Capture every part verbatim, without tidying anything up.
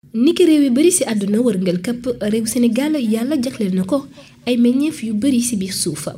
niki réew yu bari ci àdduna wërngal këpp réew Sénégal yàlla jagleel na ko ay meññeef yu bari ci biir suufa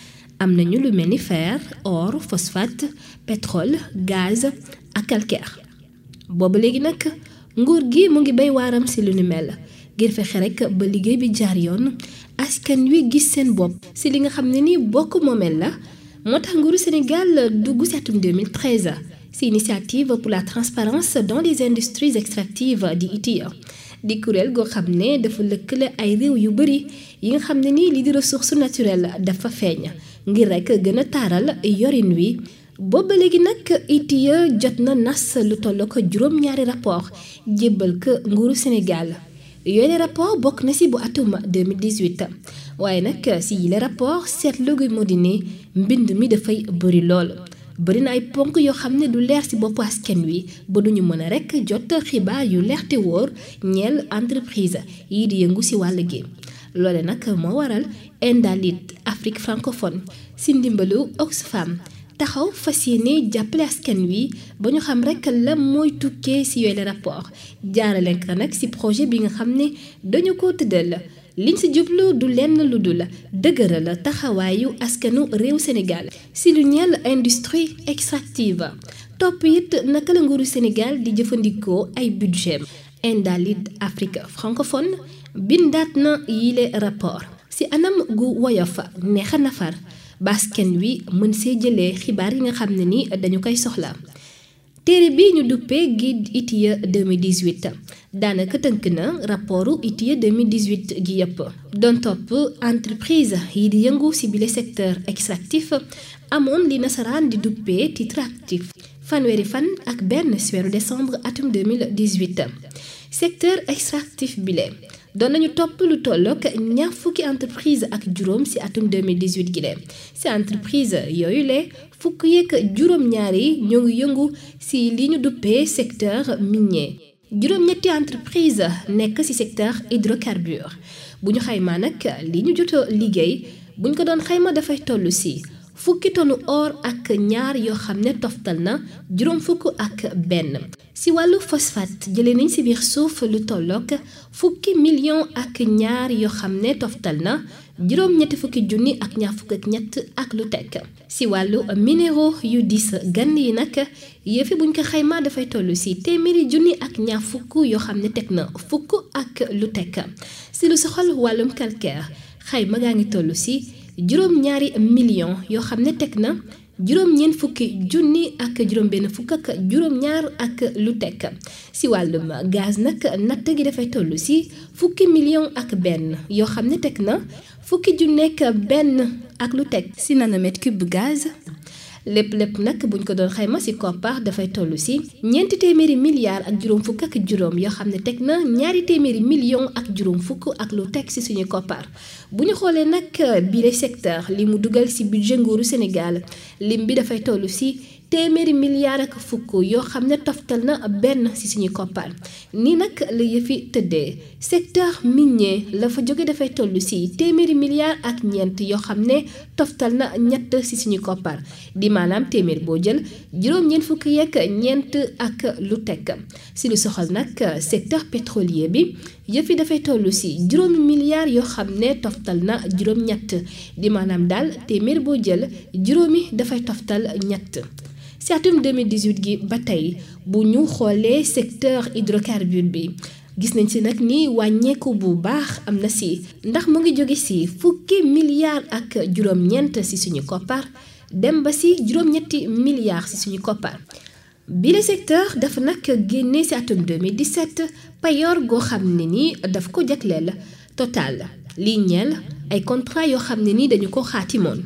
am nañu lu mel ni fer or phosphate pétrole gaz ak calcaire booba léegi nag nguur gi mu ngi bay waaram ci lu ni mel ngir fexe rekk ba liggéey bi jaar yoon askan wi gis seen bopp ci li nga xam ne ni bokk moomeel la moo tax nguuru Sénégal dugg ci atum deux mille treize ci initiative pour la transparence dans les industries extractives di I T I A di kuréel goo xam ne dafa lëkkale ay réew yu bari yi nga xam ne ni li di ressource naturelle dafa feeñ ngir rekk gën a taaral yorin wi booba léegi nag I T I A jot na nas lu toll ko juróom-ñaari rapport jébbal ko nguuru Sénégal yooyu rapport bokk na ci bu atum deux mille dix-huit waaye nag ci yile rapport seetlu gu moo di ne mbind mi dafay bari lool bari na ay ponk yoo xam ne du leer ci boppu askan wi ba duñu mën a rekk jot xibaar yu leer te wóor ñeel entreprise yi di yëngu ci wàll gi loole nag moo waral Endalit Afrique francophone ci ndimbalu Oxfam taxaw fas yéene jàppale askan wi ba ñu xam rekk la mooy tukkee ci yooyu rapport jaarale ko nag ci projet bi nga xam ne dañu ko tëddal liñ ci jublu du lenn lu dul dëgëral taxawaayu askanu réew Sénégal ci lu ñeel industrie extractive topp it naka la nguuru Sénégal di jëfandikoo ay budget Endalit Afrique francophone bindaat na yile rapport ci anam gu woyof neexa nafar ba askan wi mën see jëlee xibaar yi nga xam ne ni dañu koy soxla téere bi ñu duppee guide I T I A deux mille dix-huit daanaka tënk na rapportu I T I A deux mille dix-huit gi yëpp doon topp entreprise yi di yëngu ci bile secteur extractif amoon li nasaraan di duppee titre actif fanweeri fan ak benn ci weeru décembre atum deux mille dix-huit secteur extractif bile doon nañu topp lu tollook ñaar fukki entreprise ak juróom ci atum deux mille dix-huit gi lee ci entreprise yooyu le fukk yeeg juróom-ñaar yi ñoo ngi yëngu ci li ñu duppee secteur minier juróom-ñetti entreprise nekk ci secteur hydrocarbure bu ñu xaymaa nag li ñu joto liggéey bu ñu ko doon xayma dafay toll ci fukki tonu or ak ñaar yoo xam ne toftal na juróom fukk ak benn ci wàllu phosphate jëlee nañ ci biir suuf lu tollook fukki million ak ñaar yoo xam ne toftal na juróom ñetti fukki junni ak ñaar fukk ak ñett ak lu tekk ci wàllu minéraux yu dis gann yi nag yëfi buñ ko xaymaa dafay toll ci téeméeri junni ak ñaar fukk yoo xam ne teg na fukk ak lu tekk ci lu soxal wàllum calcaire xayma gaa ngi toll ci juróom ñaari million yoo xam ne teg na juróom ñeent fukki junni ak juróom benn fukk ak juróom ñaar ak lu tekk ci wàllum gaz nag natt gi dafay toll ci fukki million ak benn yoo xam ne teg na fukki junneek benn ak lu teg ci nanomètre cube gaz lépp lépp nag buñ ko doon xayma ci koppar dafay toll ci ñeenti téeméeri milliards ak juróom fukk ak juróom yoo xam ne teg na ñaari téeméeri million ak juróom fukk ak lu teg ci suñu koppar bu ñu xoolee nag bile secteur li mu dugal ci budget nguuru Sénégal lim bi dafay toll ci téeméeri milliards ak fukk yoo xam ne toftal na benn ci suñu koppar nii nag la yëfi tëddee secteur minier la fa jóge dafay toll ci téeméeri milliards ak ñeent yoo xam ne toftal na ñett ci suñu koppar di maanaam téeméer boo jël juróom-ñeent fukk yeeg ñeent ak lu tekk ci lu soxal nag secteur pétrolier bi yëfi dafay toll ci juróomi milliards yoo xam ne toftal na juróom-ñett di maanaam daal téeméer boo jël juróomi dafay toftal ñett ci atum deux mille dix-huit gi ba tey bu ñu xoolee secteur hydrocarbure bi gis nañ ci nag ni wàññeeku bu baax am na ci ndax mu ngi jóge ci fukki milliards ak juróom-ñeent ci suñu koppar dem ba ci juróom-ñetti milliards ci suñu koppar bile secteur dafa nag génne ci atum deux mille dix-sept payoor goo xam ne ni daf ko jagleel Total lii ñeel ay contrat yoo xam ne ni dañu ko xaatimoon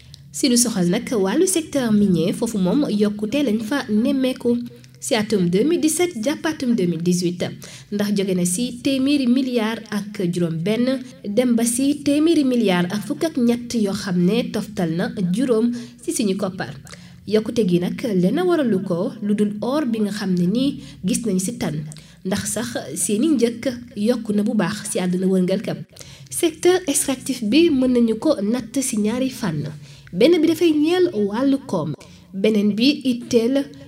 ci lu soxal nag wàllu secteur minier foofu moom yokkute lañ fa nemmeeku ci atum deux mille dix-sept jàpp atum deux mille dix-huit ndax jóge na ci téeméeri milliards ak juróom benn dem ba ci téeméeri milliards ak fukk ak ñett yoo xam ne toftal na juróom ci suñu koppar yokkute gi nag lenn waralu ko lu dul or bi nga xam ne nii gis nañ ci tan ndax sax seeni njëkk yokku na bu baax ci àdduna wërngal këpp secteur extractif bi mën nañu ko natt ci ñaari fànn benn bi dafay ñeel wàllu koom beneen bi itteel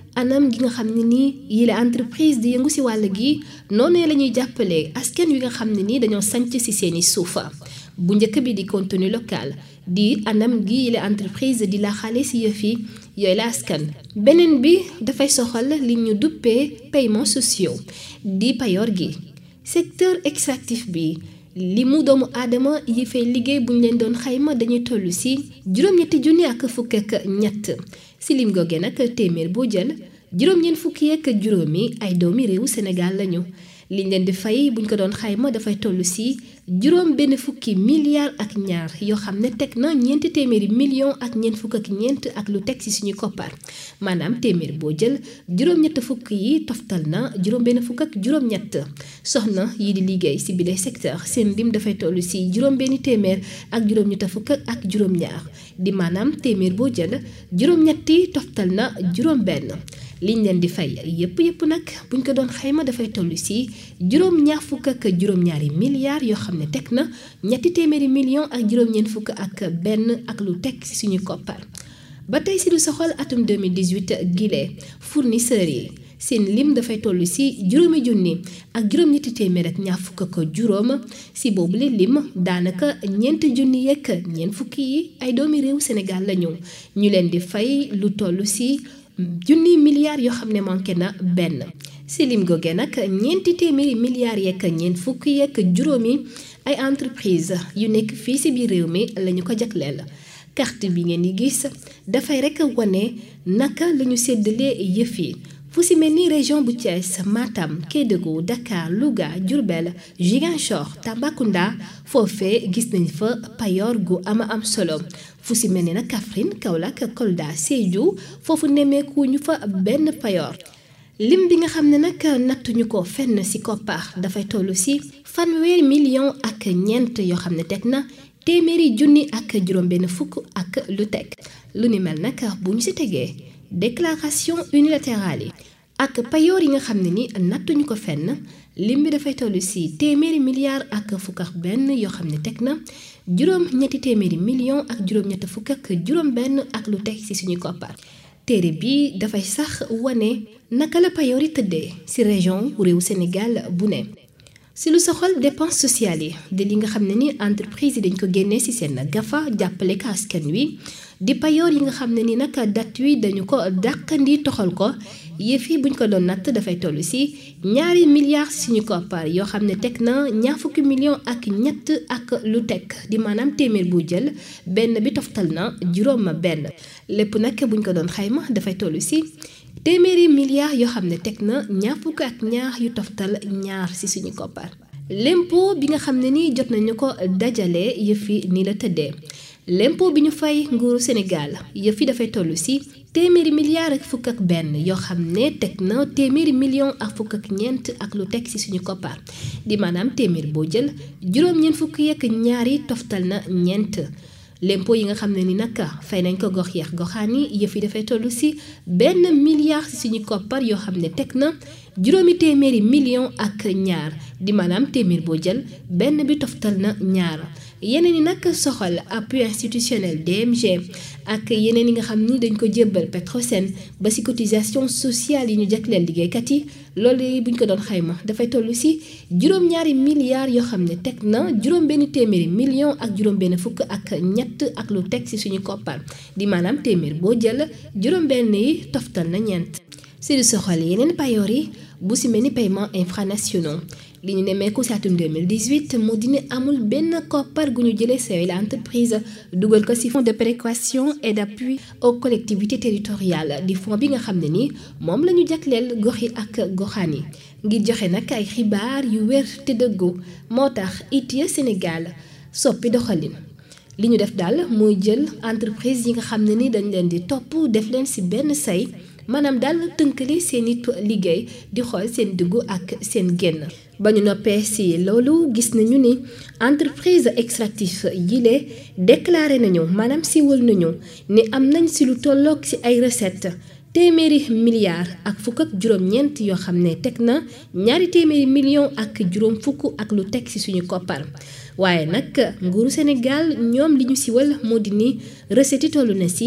anam gi nga xam ne nii yile entreprise di yëngu si wàll gi noonu la ñuy jàppale askan wi nga xam ne nii dañoo sanc si seeni suufa bu njëkk bi di contenu local di anam gi yile entreprise di la xale si yëf yi yooyu la askan beneen bi dafay soxal li ñu duppee paiements sociaux di payoor gi secteur extractif bi li mu doomu aadama yi fay liggéey bu ñu leen doon xayma dañuy toll si juróom-ñetti junni ak fukk ak ñett si lim googe nag téeméer boo jël juróom-ñeent fukki ak juróomi ay doomi réewu Sénégal lañu liñ leen di fay buñ ko doon xayma dafay toll si juróom benn fukki milliards ak ñaar yoo xam ne teg na ñeenti téeméeri millions ak ñeent fukk ak ñeent ak lu teg si suñu koppar maanaam téeméer boo jël juróom-ñett fukk yi toftal na juróom benn fukk ak juróom-ñett soxna yi di liggéey si bile secteur seen lim dafay toll si juróom benn téeméer ak juróom-ñett fukk ak juróom-ñaar di maanaam téeméer boo jël juróom-ñetti toftal na juróom-benn. liñ leen di fay yëpp yëpp nag buñ ko doon xayma dafay toll si juróom ñaar fukk ak juróom-ñaari milliards yoo xam ne teg na ñetti téeméeri millions ak juróom-ñeent fukk ak benn ak lu teg si suñu koppar. ba tey si lu soxal atum deux mille dix-huit gile fournisseurs yi seen lim dafay toll si juróomi junni ak juróom-ñetti téeméer ak ñaar fukk ak juróom si boobule lim daanaka ñeenti junni yeeg ñeent fukki yi ay doomi réew Sénégal lañu ñu leen di fay lu toll si. junni milliards yoo xam ne manqué na benn si lim googe nag ñeenti téeméeri milliards yeeg ñeent fukki yeeg juróomi ay entreprise yu nekk fii si biir réew mi lañu ko jagleel carte bi ngeen di gis dafay rek wane naka lañu séddalee yëf yi fu si mel ni région bu Thiès Matam Kédougou Dakar Louga Diourbel Ziguinchor Tambacounda foofee gis nañ fa payoor gu ama am solo fu si mel ni nag Kaffrine Kaolack Kolda Sédhiou foofu nemmeeku ñu fa benn payoor lim bi nga xam ne nag nattuñu ko fenn si koppar dafay toll si fanweeri million ak ñeent yoo xam ne teg na téeméeri junni ak juróom benn fukk ak lu teg lu ni mel nag bu ñu si tegee déclaration unilatérale yi ak payoor yi nga xam ne ni nattuñu ko fenn lim bi dafay toll si téeméeri milliards ak fukk ak benn yoo xam ne teg na juróom ñetti téeméeri millions ak juróom ñett fukk ak juróom benn ak lu teg si suñu koppar téere bi dafay sax wane naka la payoor yi tëddee si région réewu Sénégal bu ne si lu soxal dépense sociale yi de li nga xam ne ni entreprise yi dañ ko génnee si seen gafa jàppale ko askan wi di payoor yi nga xam ne ni nag date wi dañu ko dàqandi toxal ko yëf yi buñ ko doon natt dafay toll si ñaari milliards suñu koppar yoo xam ne teg na ñaar fukki millions ak ñett ak lu teg di maanaam téeméer bu jël benn bi toftal na juróom benn lépp nag buñ ko doon xayma dafay toll si téeméeri milliards yoo xam ne teg na ñaar fukk ak ñaar yu toftal ñaar si suñu koppar l'impôt bi nga xam ne ni jot nañu ko dajale yëf yi ni la tëddee l'impôt bi ñu fay nguuru Sénégal yëf yi dafay toll si téeméeri milliards ak fukk ak benn yoo xam ne teg na téeméeri millions ak fukk ak ñeent ak lu teg ci suñu koppar di maanaam téeméer boo jël juróom-ñeent fukk yeeg ñaari toftal na ñeent l'impôt yi nga xam ne ni nag fay nañ ko gox yeex goxaan yi yëf yi dafay toll si benn milliard ci suñu koppar yoo xam ne teg na juróomi téeméeri millions ak ñaar di maanaam téeméer boo jël benn bi toftal na ñaar yeneen yi nag soxal appui institutionnel D M G ak yeneen yi nga xam ni dañ ko jébbal Petrosen ba ci cotisation sociale yi ñu jagleel liggéeykat yi loolu buñ ko doon xayma dafay toll ci juróom-ñaari milliards yoo xam ne teg na juróom-benn téeméeri millions ak juróom-benn fukk ak ñett ak lu teg ci suñu koppar di maanaam téeméer boo jël juróom-benn yi toftal na ñeent. ci lu soxal yeneen payoor yi bu ci mel ni paiement infranationaux li ñu nemmeeku ci atum deux mille dix-huit moo di ne amul benn koppar gu ñu jëlee ci la entreprise dugal ko ci fonds de péréquation et d'appui aux collectivités territoriales di fonds bi nga xam ne ni moom la ñu jagleel gox yi ak goxaan yi ngir joxe nag ay xibaar yu wér te dëggu moo tax I T I E Sénégal soppi doxalin li ñu def daal mooy jël entreprise yi nga xam ne ni dañ leen di topp def leen ci benn say maanaam daal tënkale seen it liggéey di xool seen dugg ak seen génn ba ñu noppee ci loolu gis nañu ni entreprise extractif yile déclaré nañu maanaam siiwal nañu ni am nañ ci lu tolloog ci ay recette téeméeri milliards ak fukk ak juróom-ñeent yoo xam ne teg na ñaari téeméeri millions ak juróom fukk ak lu teg ci suñu koppar waaye nag nguuru Sénégal ñoom li ñu siiwal moo di ni recette yi tollu na ci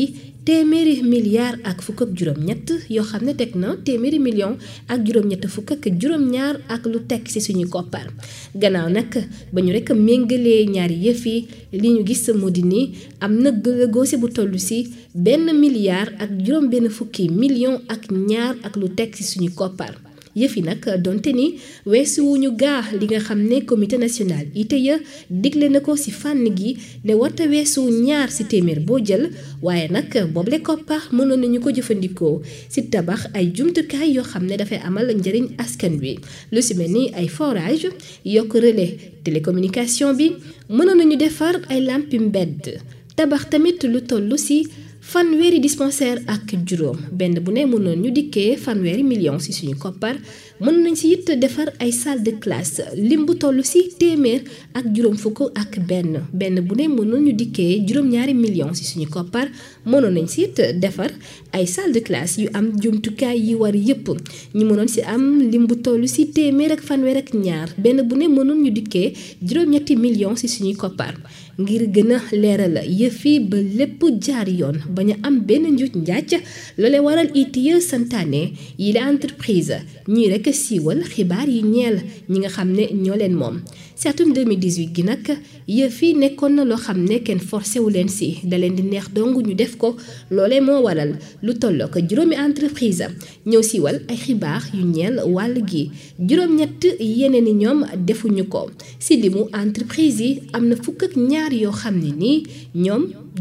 téeméeri milliards ak fukk ak juróom-ñett yoo xam ne teg na téeméeri million ak juróom-ñett fukk ak juróom-ñaar ak lu teg ci suñu koppar gannaaw nag ba ñu rek méngalee ñaari yëf yi li ñu gis moo di ni am na gëlëgoose bu toll ci benn milliard ak juróom benn fukki million ak ñaar ak lu teg ci suñu koppar yëf yi nag donte ni weesu wuñu gaa li nga xam ne comité national I T I E digle na ko ci fànn gi ne warta weesu ñaar ci téeméer boo jël waaye nag boobule koppar mënoon nañu ko jëfandikoo ci tabax ay jumtukaay yoo xam ne dafay amal njëriñ askan wi lu ci mel ni ay forage yokk relais télécommunication bi mënoon nañu defar ay lampi mbedd tabax tamit lu toll ci fanweeri dispensaire ak juróom benn bu ne mënoon ñu dikkee fanweeri million ci suñu koppar mën nañ ci it defar ay salle de classe lim bu toll ci téeméer ak juróom fukk ak benn benn bu ne mënoon ñu dikkee juróom-ñaari million ci suñu koppar mënoon nañ ci it defar ay salle de classe yu am jumtukaay yi war yépp ñu mënoon ci am lim bu toll ci téeméer ak fanweer ak ñaar benn bu ne mënoon ñu dikkee juróom-ñetti million ci suñuy koppar ngir gën a leeral yëf yi ba lépp jaar yoon bañ a am benn njuuj njaaj loole waral I T I E santaane yi la entreprise ñuy rek siiwal xibaar yi ñeel ñi nga xam ne ñoo leen moom ci atum deux mille dix-huit gi nag yëf yi nekkoon na loo xam ne kenn forcé wu leen si da leen di neex dong ñu def ko loolee moo waral lu tolloo ko juróomi entreprise ñëw siiwal ay xibaar yu ñeel wàll gi juróom-ñett yeneen i ñoom defuñu ko ci limu entreprise yi am na fukk ak ñaar yoo xam ne nii ñoom